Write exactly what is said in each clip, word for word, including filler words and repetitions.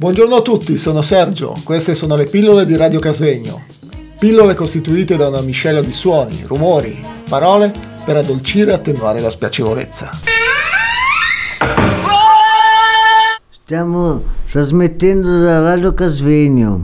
Buongiorno a tutti, sono Sergio, queste sono le pillole di Radio Casvegno. Pillole costituite da una miscela di suoni, rumori, parole per addolcire e attenuare la spiacevolezza. Stiamo trasmettendo da Radio Casvegno.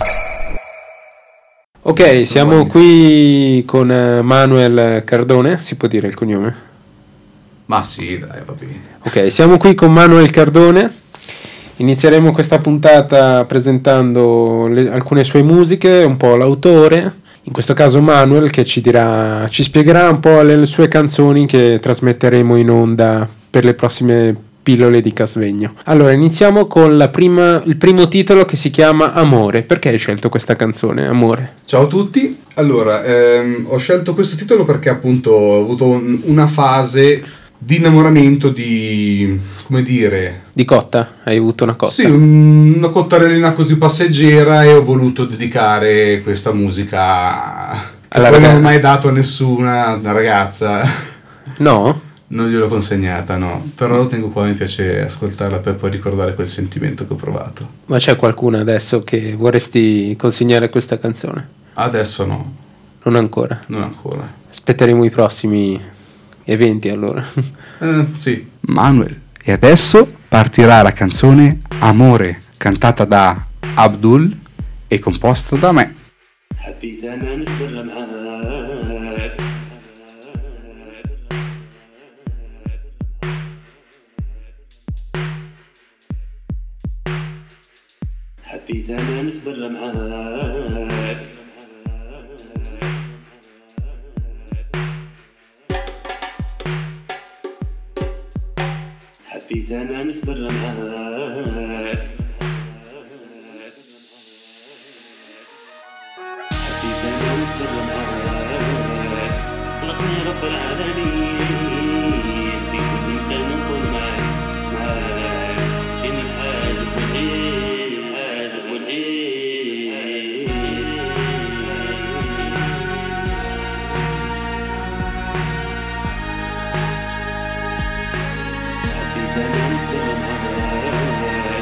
Ok, siamo qui con Manuel Cardone, si può dire il cognome? Ma sì, dai, va bene. Ok, siamo qui con Manuel Cardone. Inizieremo questa puntata presentando le, alcune sue musiche, un po' l'autore, in questo caso Manuel, che ci dirà, ci spiegherà un po' le, le sue canzoni che trasmetteremo in onda per le prossime pillole di Casvegno. Allora, iniziamo con la prima, il primo titolo che si chiama Amore. Perché hai scelto questa canzone, Amore? Ciao a tutti. Allora, ehm, ho scelto questo titolo perché appunto ho avuto un, una fase di innamoramento di, come dire... Di cotta? Hai avuto una cotta? Sì, un, una cottarellina così passeggera e ho voluto dedicare questa musica che poi non ho mai dato a nessuna una ragazza. No? Non gliel'ho consegnata, no. Però lo tengo qua, mi piace ascoltarla per poi ricordare quel sentimento che ho provato. Ma c'è qualcuno adesso che vorresti consegnare questa canzone? Adesso no. Non ancora? Non ancora. Aspetteremo i prossimi eventi allora. Eh, sì. Manuel. E adesso partirà la canzone Amore, cantata da Abdul e composta da me. حبيت أنا نكبر معاك حبيت أنا نكبر معاك حبيت أنا نكبر معاك حبيت أنا نكبر معاك خلقني رب العالمين في كل مكان نكون معاك معاك بين الحاجب والعين الحاجب والعين حبيت أنا نكبر معاك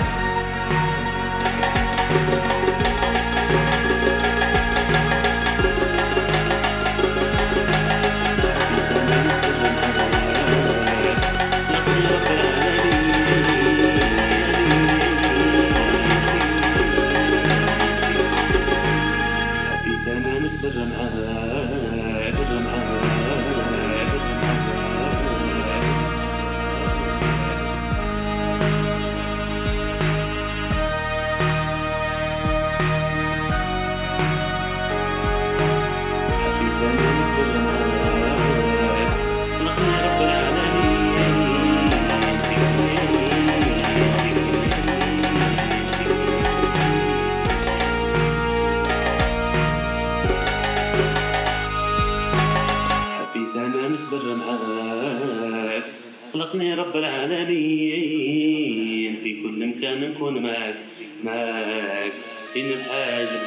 خلقني رب العالمين في كل مكان نكون معاك معاك بين الحاجب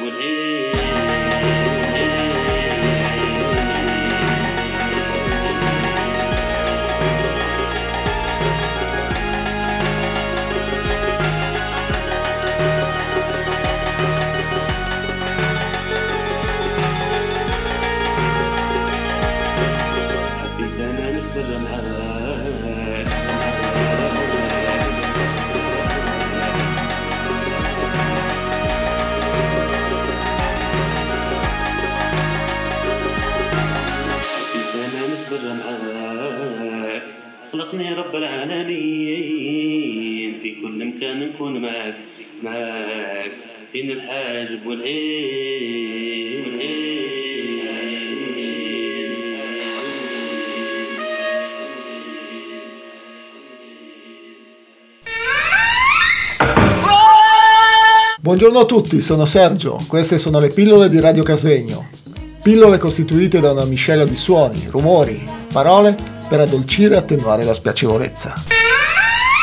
حبيت أنا نكبر معاك خلقني رب العالمين في كل مكان نكون معاك معاك بين الحاجب والعين Buongiorno a tutti, sono Sergio, queste sono le pillole di Radio Casvegno. Pillole costituite da una miscela di suoni, rumori, parole per addolcire e attenuare la spiacevolezza.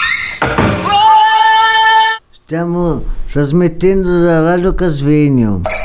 Stiamo trasmettendo da Radio Casvegno.